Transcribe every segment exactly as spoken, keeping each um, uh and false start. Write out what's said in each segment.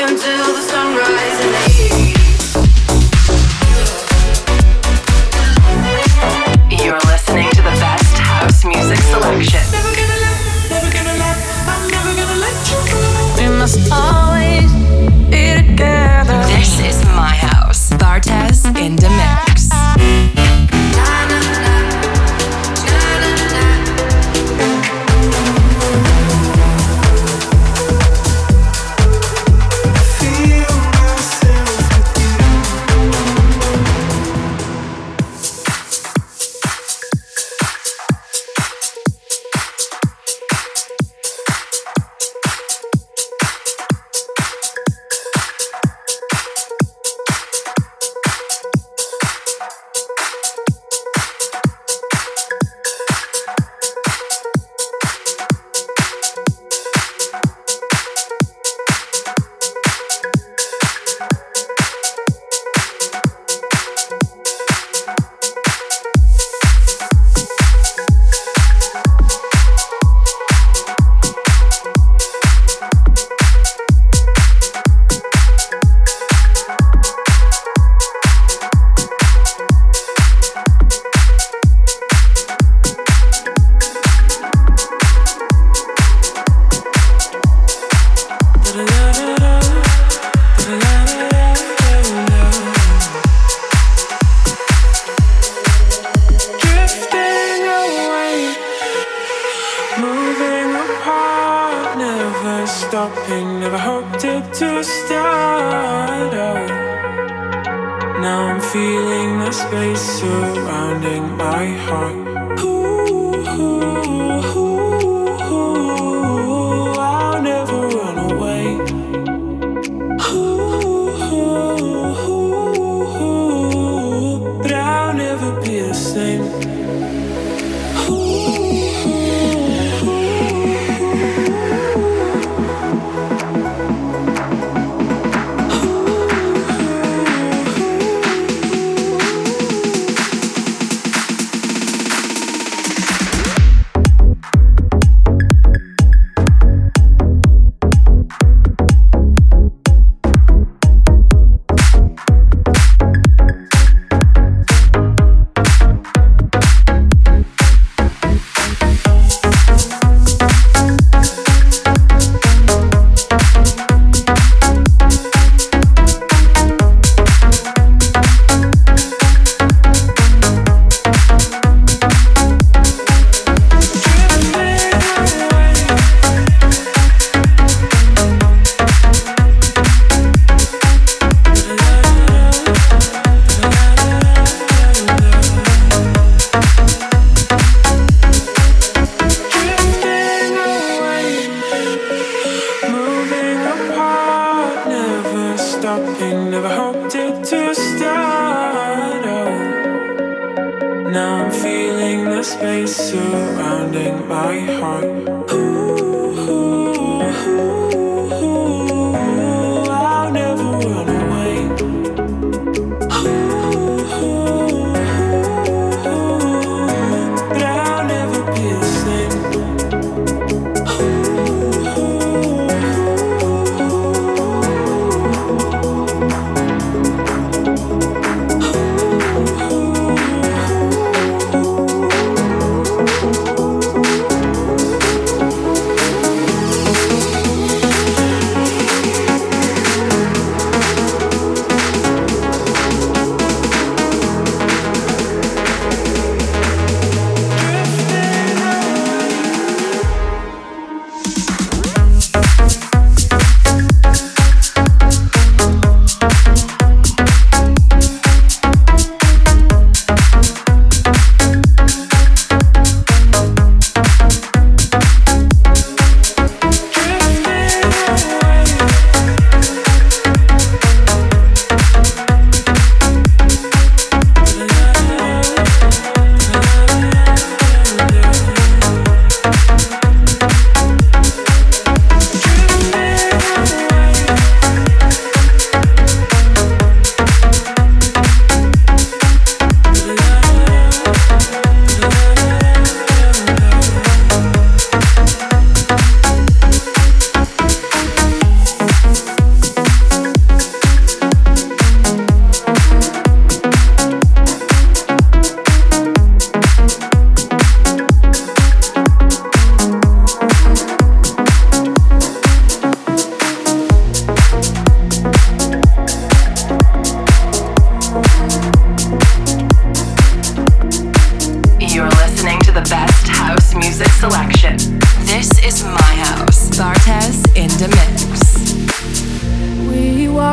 until the sunrise in the east. You're listening to the best house music selection. Never gonna let, never gonna let, I'm never gonna let you go. We must always be together. This is my house. Bartez in the mix.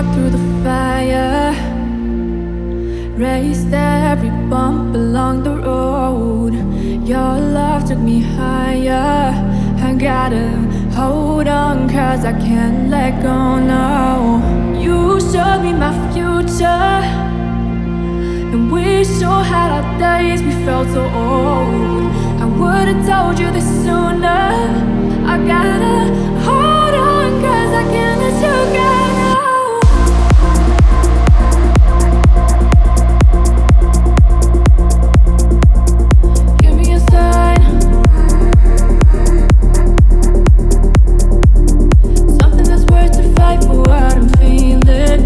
fought through the fire, raced every bump along the road. Your love took me higher. I gotta hold on, cause I can't let go now. You showed me my future, and we sure had our days, we felt so old. I would've told you this sooner. I gotta hold on, cause I can't let you go now. Give me a sign, something that's worth to fight for what I'm feeling.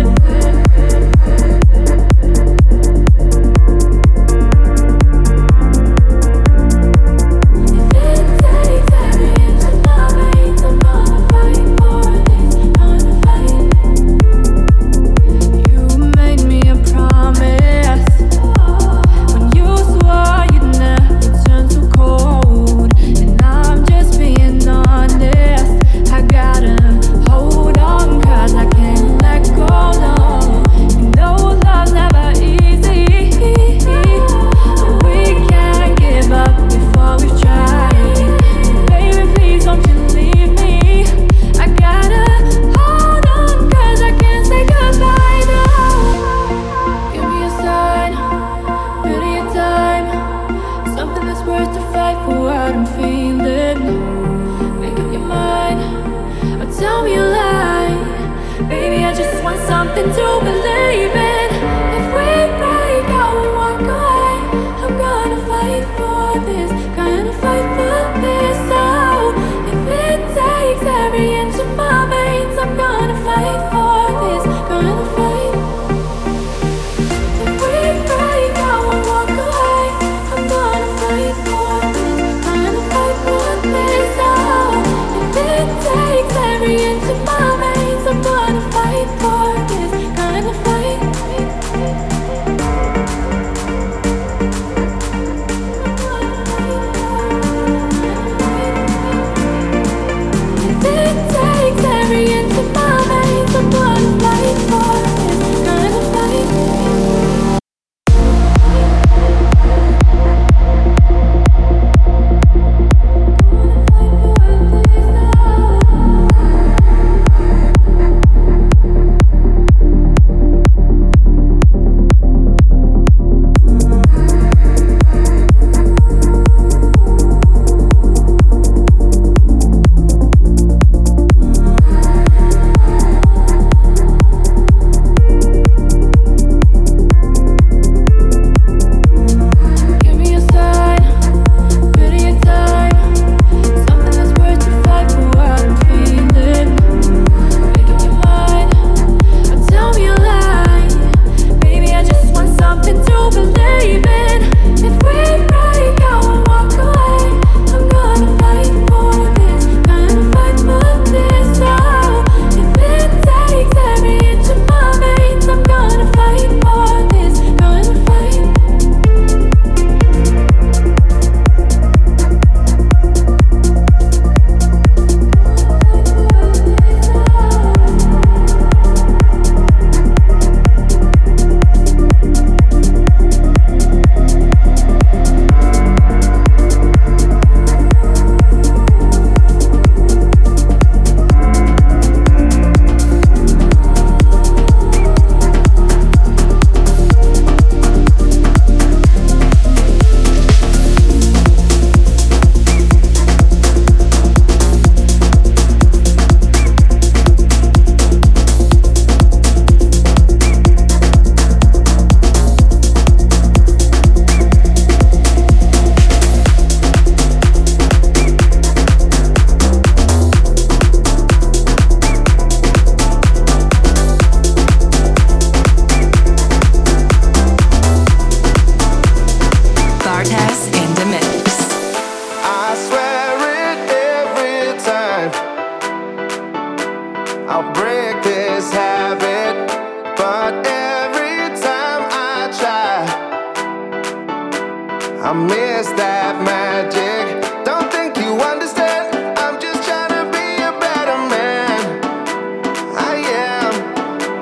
I miss that magic. Don't think you understand. I'm just trying to be a better man. I am.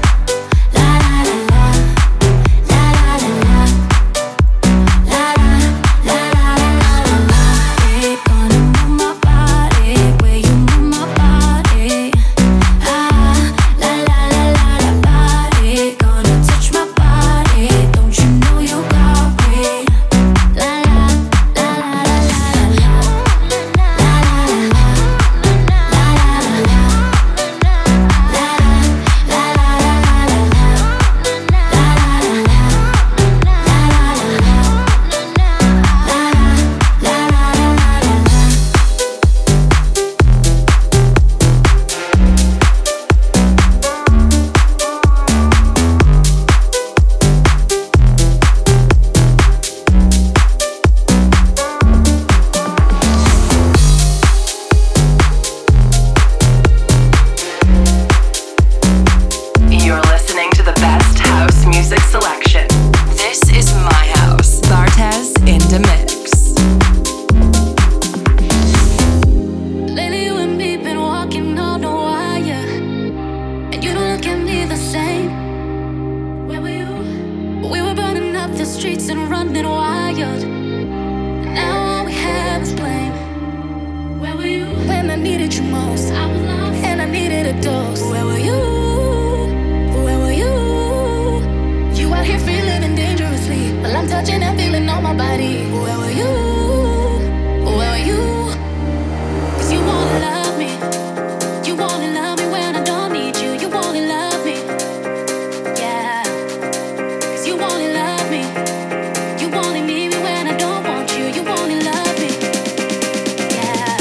streets and running wild. Now all we have is blame. Where were you when I needed you most? I was lost and I needed a dose. Where were you? Where were you? You out here free living dangerously, while I'm touching and feeling on my body. Where were you? Where were you? 'Cause you wanna love me. You wanna love me when I don't need you. You wanna love me. Yeah. 'Cause you wanna love me. You wanna need me when I don't want you. You wanna love me. Yeah.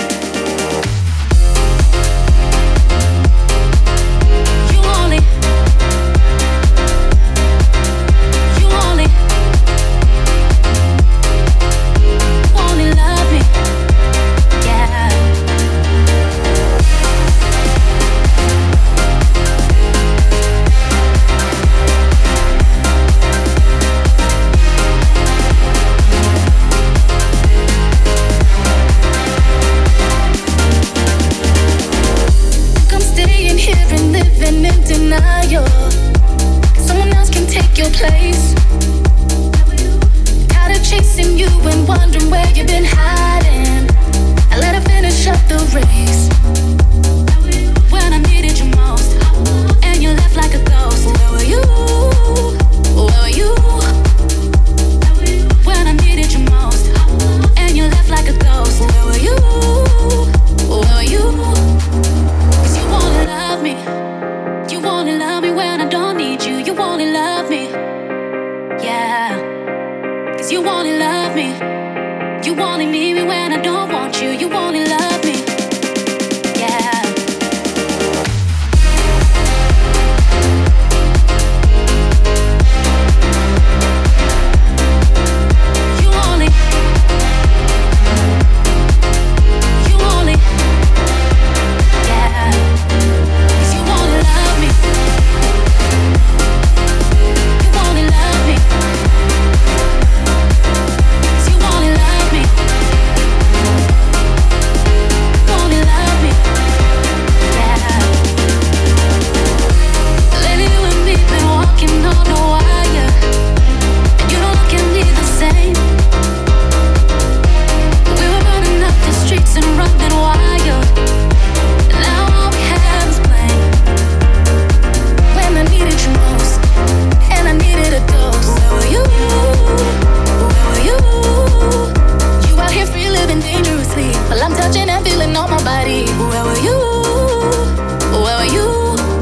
You only. You only. Only love me. Yeah. I'm staying here and living in denial. Someone else can take your place. Tired of chasing you and wondering where you've been hiding. I let her finish up the race. When I needed you most, and you left like a ghost. Where were you? Where were you? When I needed you most, and you left like a ghost. Where were you? Where were you? 'Cause you wanna love me. You wanna love me when I don't need you. You wanna love me. Yeah. 'Cause you wanna love me. You wanna need me when I don't want you. You wanna love me. Yeah. You only. You only. Yeah. 'Cause you wanna love me. You wanna love me. 'Cause you wanna love me. Wanna love me. Yeah. Lately you and me been walking on a wire, and you don't look at me the same. We were running up the streets and running wild. Now all we have is blame. When I needed you most, and I needed a dose. Where were you? Where were you? You out here free living dangerously, while I'm touching and feeling on my body. Where were you? Where were you?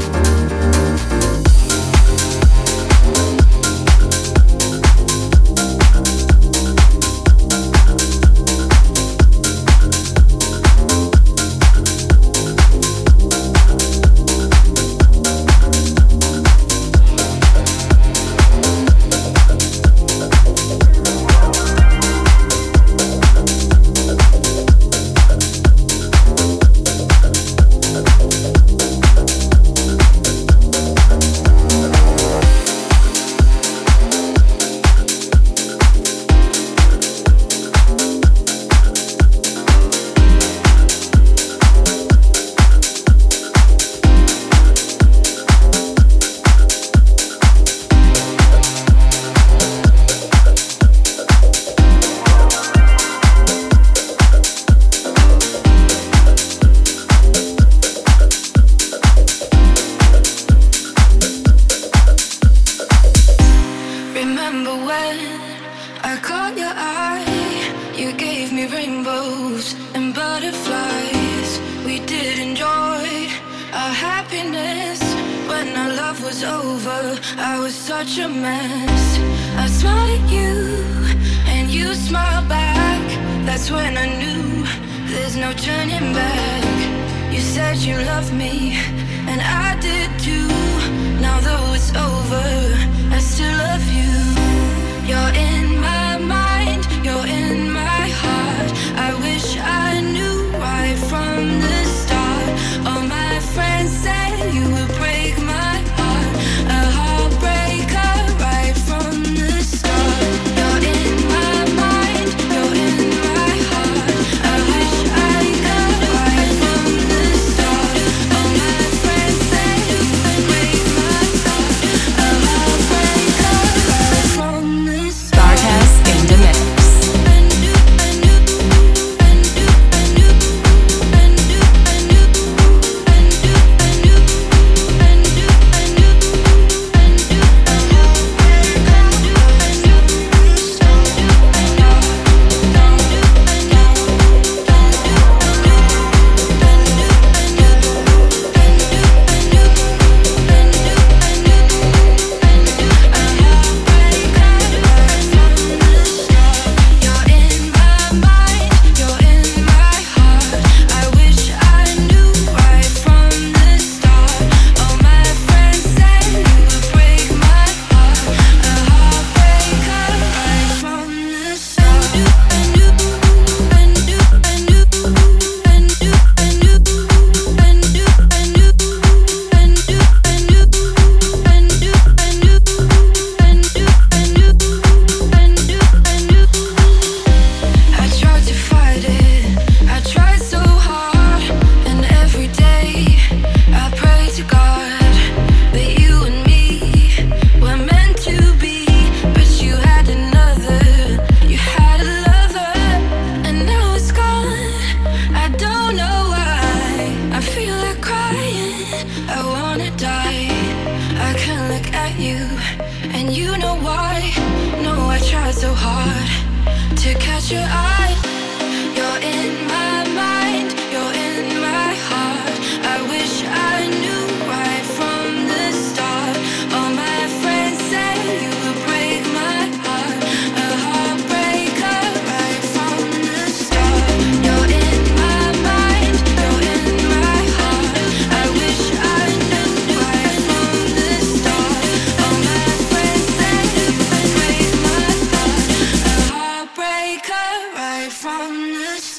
Remember when I caught your eye? You gave me rainbows and butterflies. We did enjoy our happiness. When our love was over, I was such a mess. I smiled at you and you smiled back. That's when I knew there's no turning back. You said you loved me and I did too. Now though it's over, I still love you. You're in my mind, you're in my heart. I wish I knew right from the start. All my friends say you would break my heart. A heartbreaker right from the start. You're in my mind, you're in my heart. I wish I could right from the start. All my friends say you would break my heart. A heartbreaker right from so hard to catch your eye. You're in my mind, you're in my heart. I wish I knew right from the start. All my friends say you would break my heart, a heartbreaker right from the start. You're in my mind, you're in my heart. I wish I knew right from the start. All my friends say you would break my heart, a heartbreaker right from the start.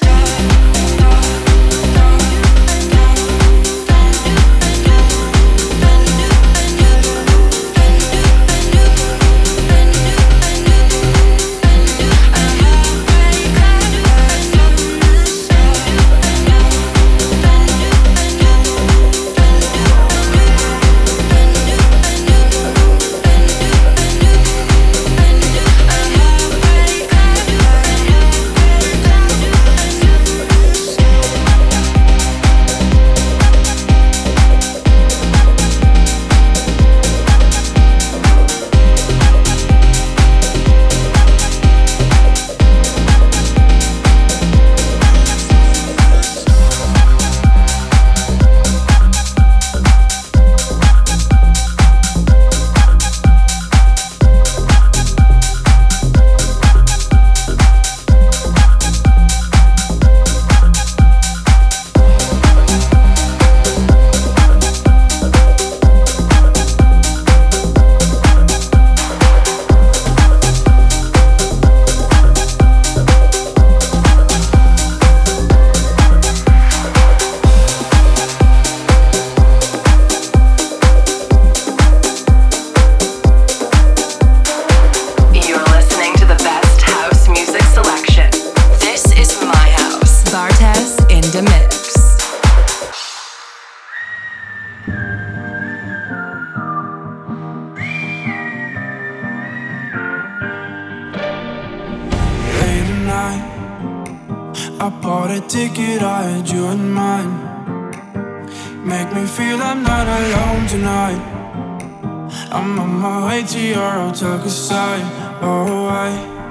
I bought a ticket, I had you in mind. Make me feel I'm not alone tonight. I'm on my way to your hotel side. Oh, I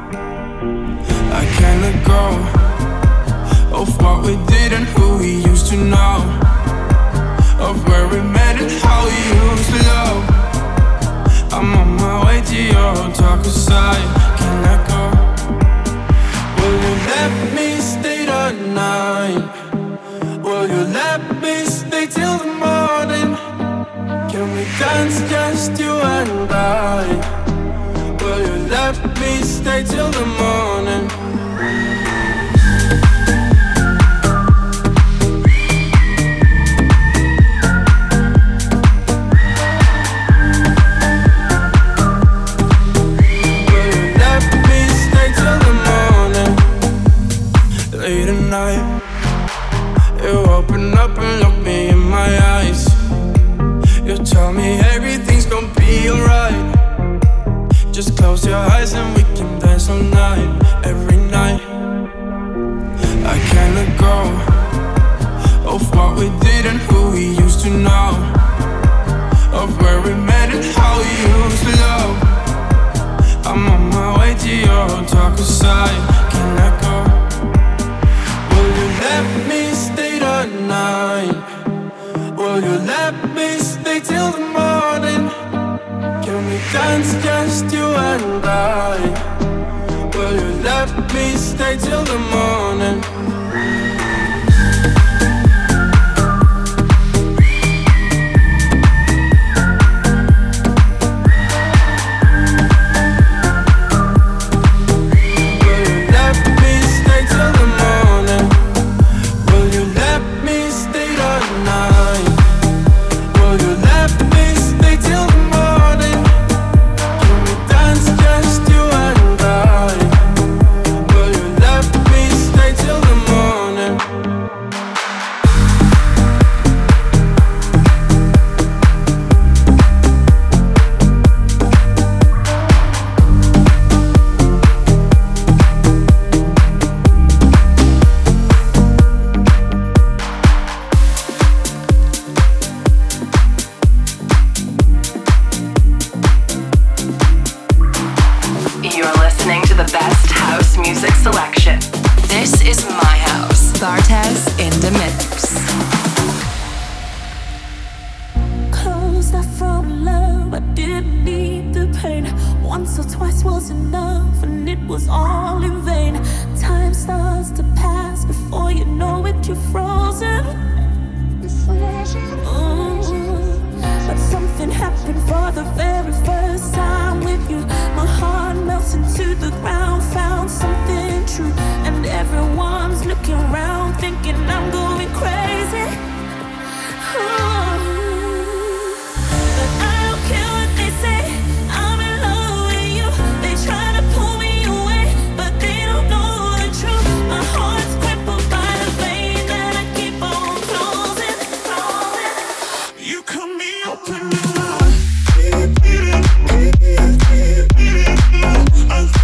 I can't let go of what we did and who we used to know, of where we met and how we used to love. I'm on my way to your hotel side. Can't let go. Will you let me stay the night? Will you let me stay till the morning? Can we dance, just you and I? Will you let me stay till the morning? Late at night, you open up and look me in my eyes. You tell me everything's gonna be alright. Just close your eyes and we can dance all night, every night. I can't let go of what we did and who we used to know, of where we met and how we used to love. I'm on my way to your hotel side. Can't let go. Let me stay the night. Will you let me stay till the morning? Can we dance, just you and I? Will you let me stay till the morning? Till the morning. listening to the best house music selection. This is my house. Bartez in the mix. Close, I found love, I didn't need the pain. Once or twice was enough, and it was all in vain. Time starts to pass, before you know it, you're frozen. Ooh. But something happened for the very first time with you. My heart melts into the ground, found something true. And everyone's looking around, thinking I'm going crazy. Ooh. But I don't care what they say, I'm in love with you. They try to pull me away, but they don't know the truth. My heart's crippled by the vein that I keep on closing, closing. You cut me open and I keep beating, keep beating, keep beating. I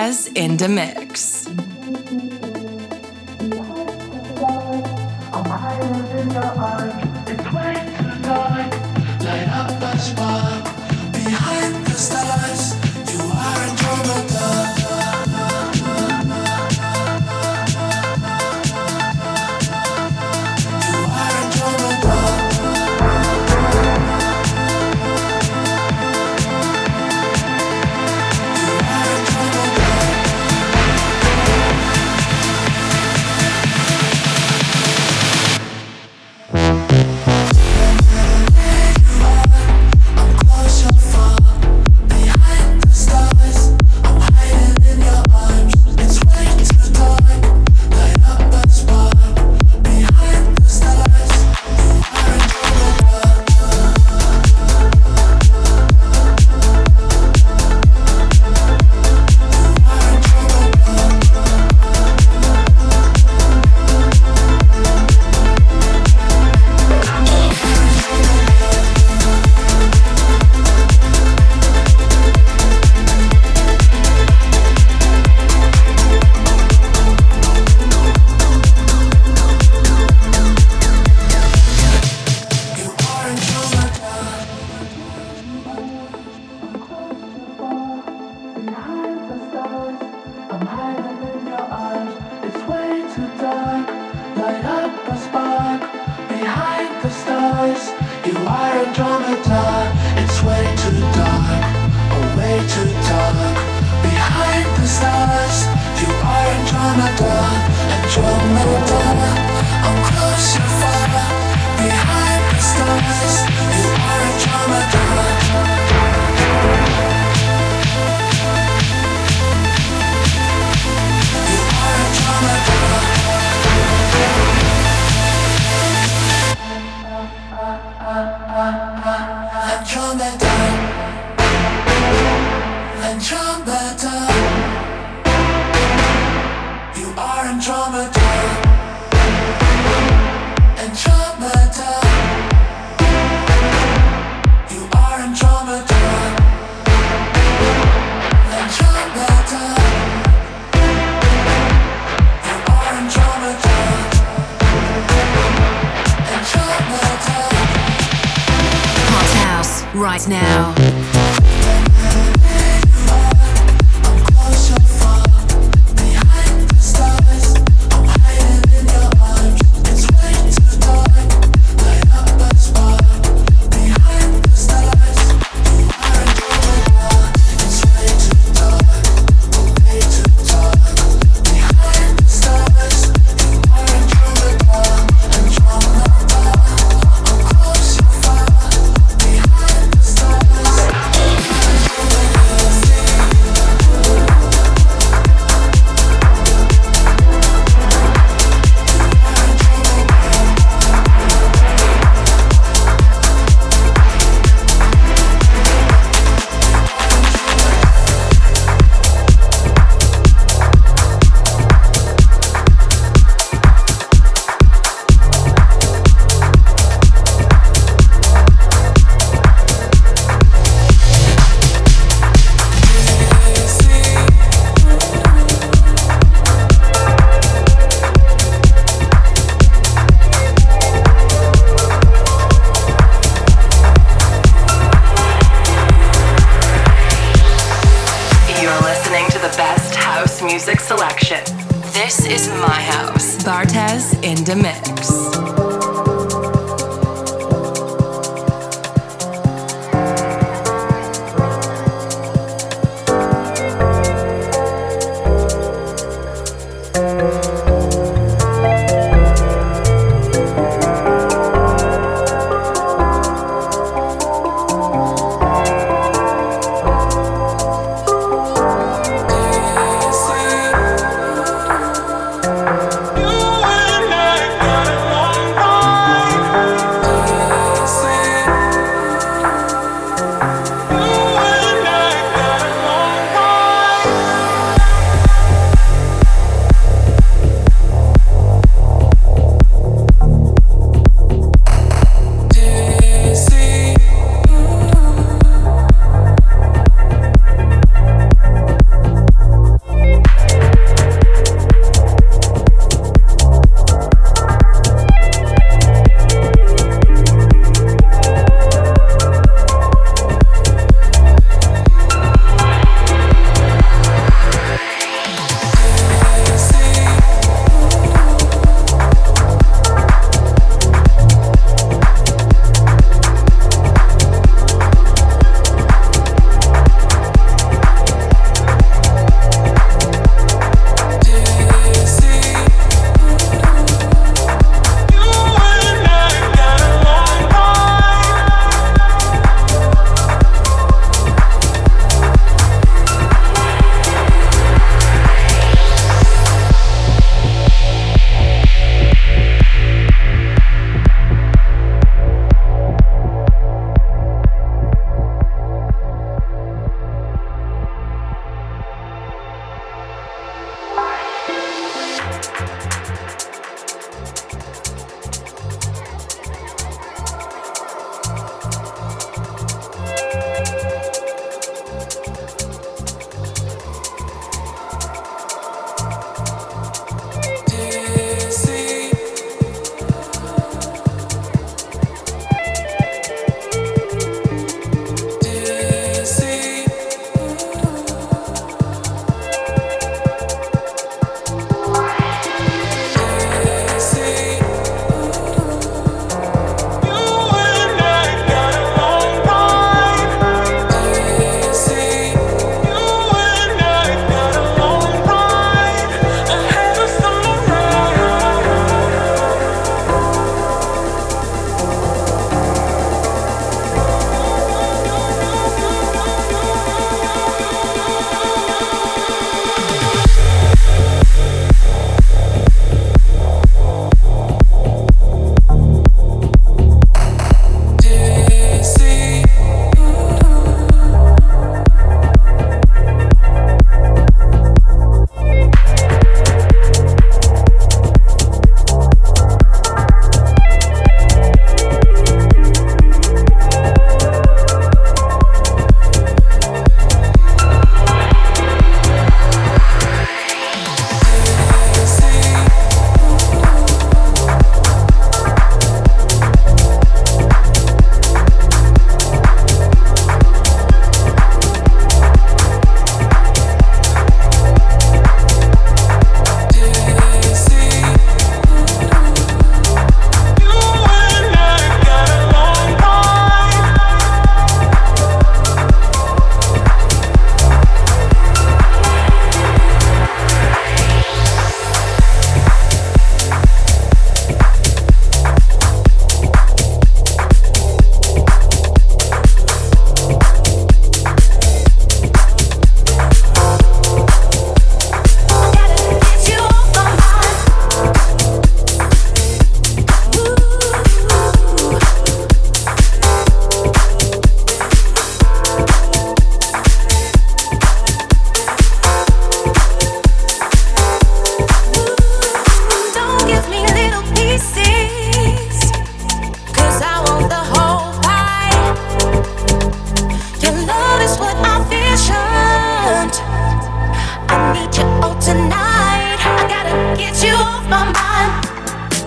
Bartez in the mix. Right now. Music selection. This is my house. Bartez in the mix. You and I got it.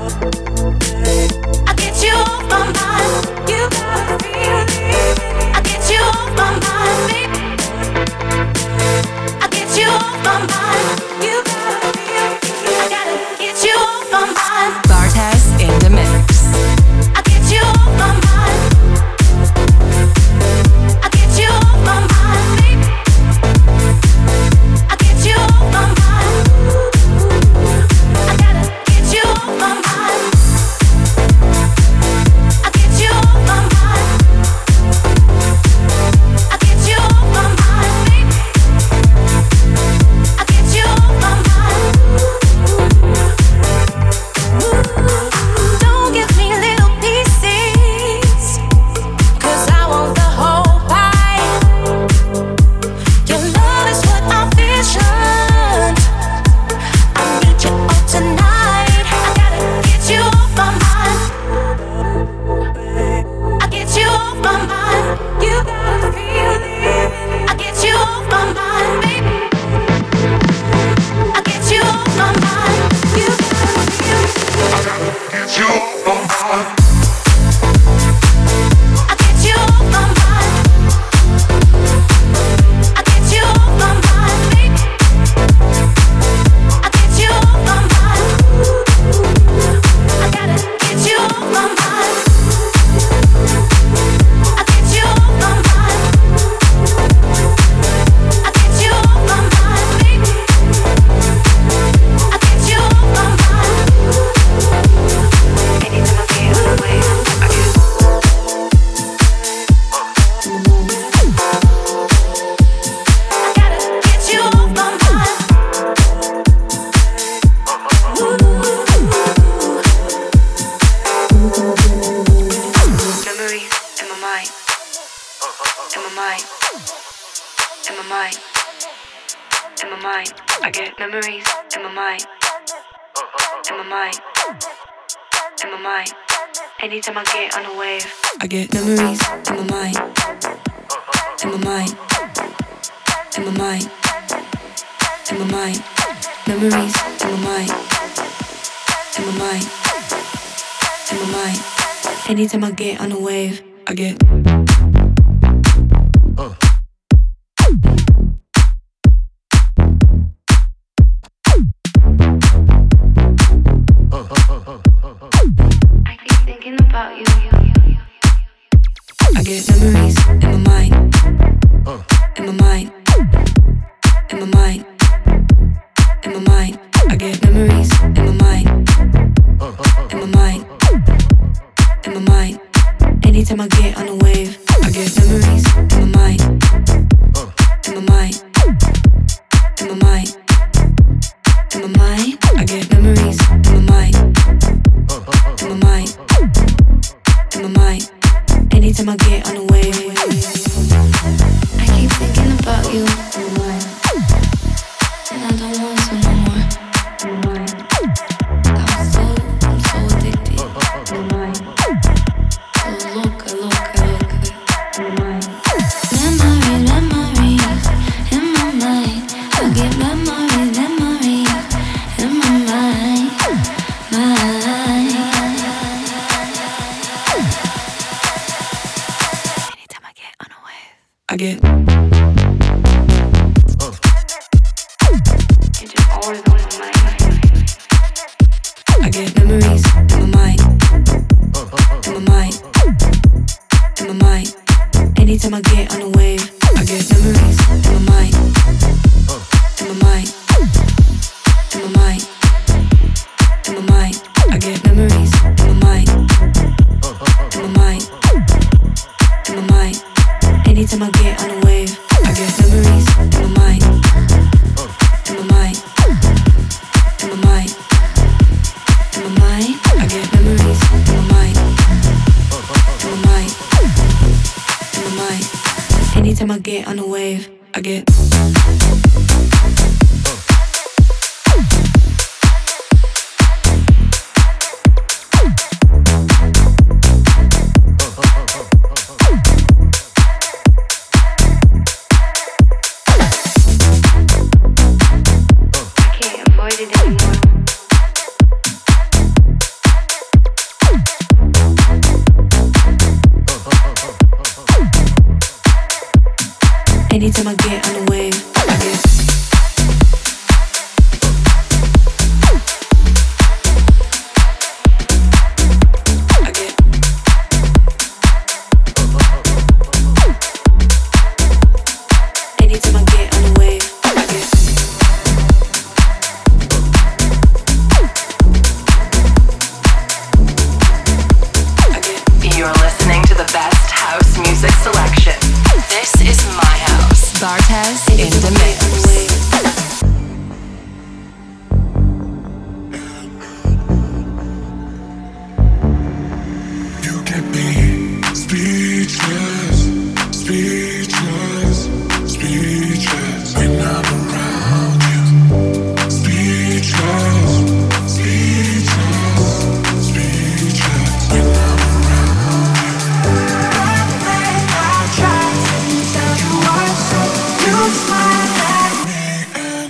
Anytime I get on a wave, I get memories in my mind, in my mind, in my mind, in my mind, memories in my mind, in my mind, in my mind. Anytime I get on a wave, I get. Uh. About you. I get memories in my mind, uh. in my mind, in my mind, in my mind. I get memories in my mind, uh. in my mind, in my mind. Anytime I get on a wave, I get memories in my mind, uh. in my mind, in my mind, in my mind. I get memories in my mind, uh. in my mind. In my mind, anytime I get on a wave, I keep thinking about you, and I don't want to no more. I'm so, I'm so addicted. So loca, loca, loca. Memories, memories in my mind. I get memories, memories in my mind, mind. I get. Uh. You're just always on my mind. I get memories in my mind, in my mind, in my mind. Anytime I get on a wave, I get memories in my mind, in my mind, in my mind, in my mind. I get memories in my mind, in my mind, in my mind. Anytime I get on a wave, I get memories in my mind, in my mind, in my mind, in my mind. I get memories in my mind, in my mind, in my mind. Anytime I get on a wave, I get. Anytime I get on the wave, I get. Bartez in the mix. You get me speechless, speechless, speechless when I'm around you. Speechless, speechless, speechless when I'm around you. I try to tell you what's up, you smile at me and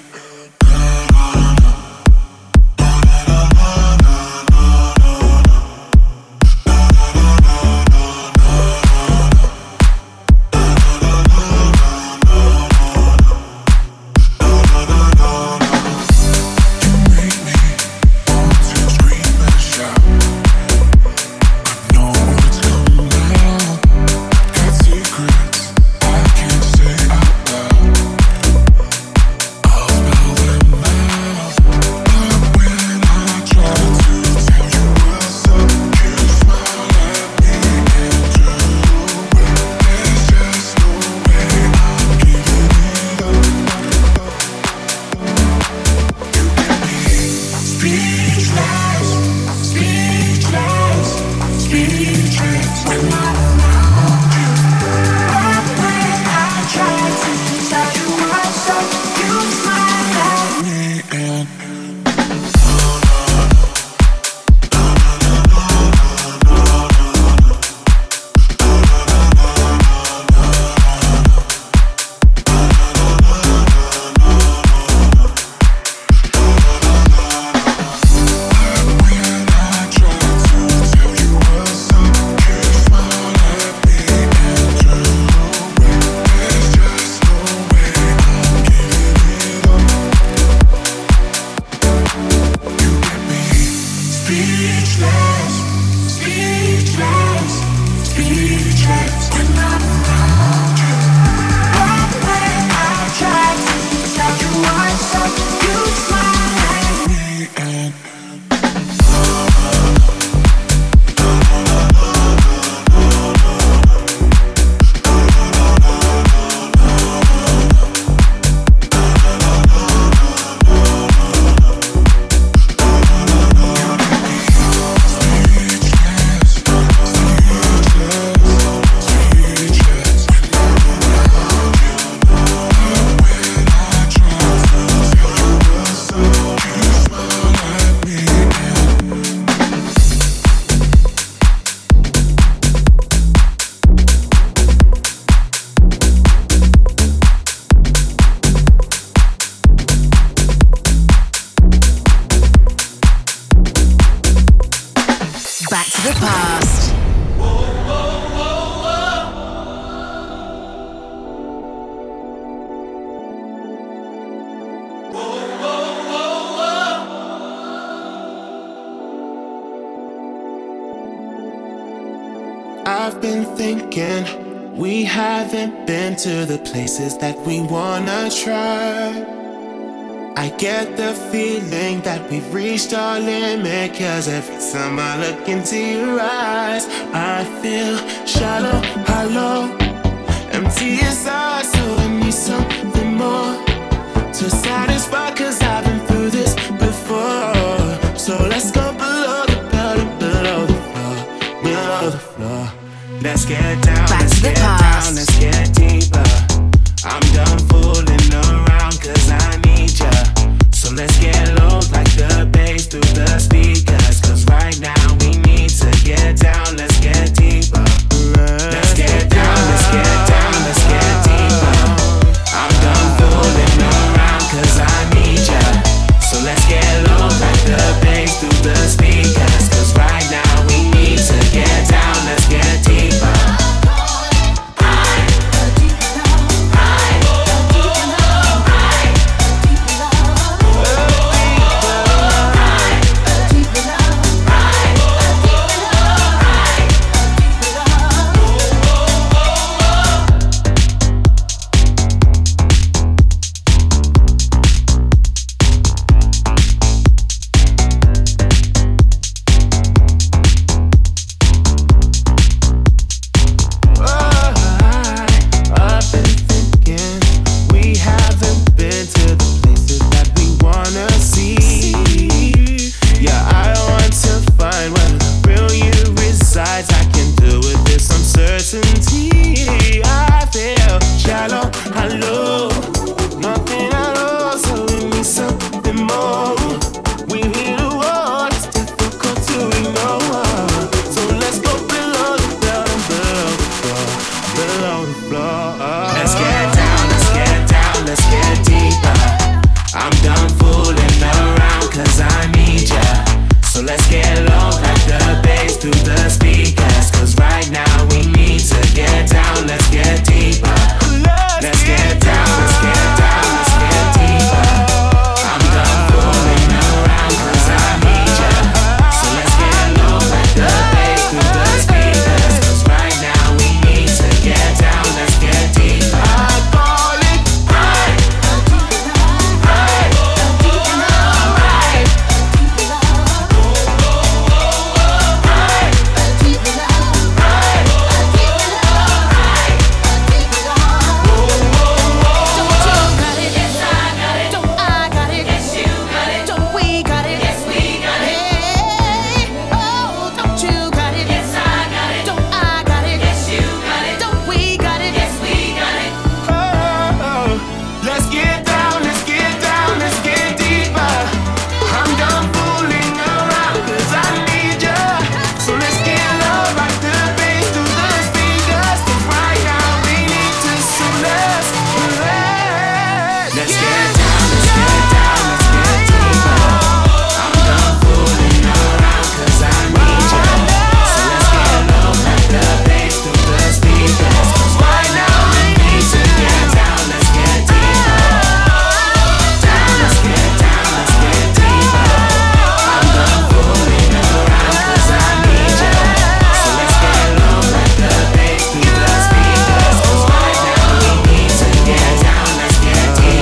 I've been thinking we haven't been to the places that we wanna try. I get the feeling that we've reached our limit, cause every time I look into your eyes I feel shallow, hollow, empty inside. So I need something more to satisfy, cause I've been through this before. So let's go below the bottom, below the floor, below the floor. Let's get down, Back let's to the get past. down, let's get deeper. I'm done fooling around cause I need ya. So let's get low like the bass through the speakers, cause right now we need to get down, let's get deeper. Let's get down, let's get down, let's get deeper. I'm done fooling around cause I need ya. So let's get low like the bass through the speakers, cause right now we need to get down, let's get deeper. So let's get low, crack the bass through the speakers. Cause right now we need to get down, let's get deeper. Let's get down, let's get down, let's get deeper. I'm done fooling around cause I need ya. So let's get low, crack the bass through the speakers. Cause right now we need to get down, let's get deeper. I call it right, right, right.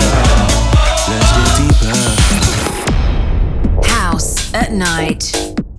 At night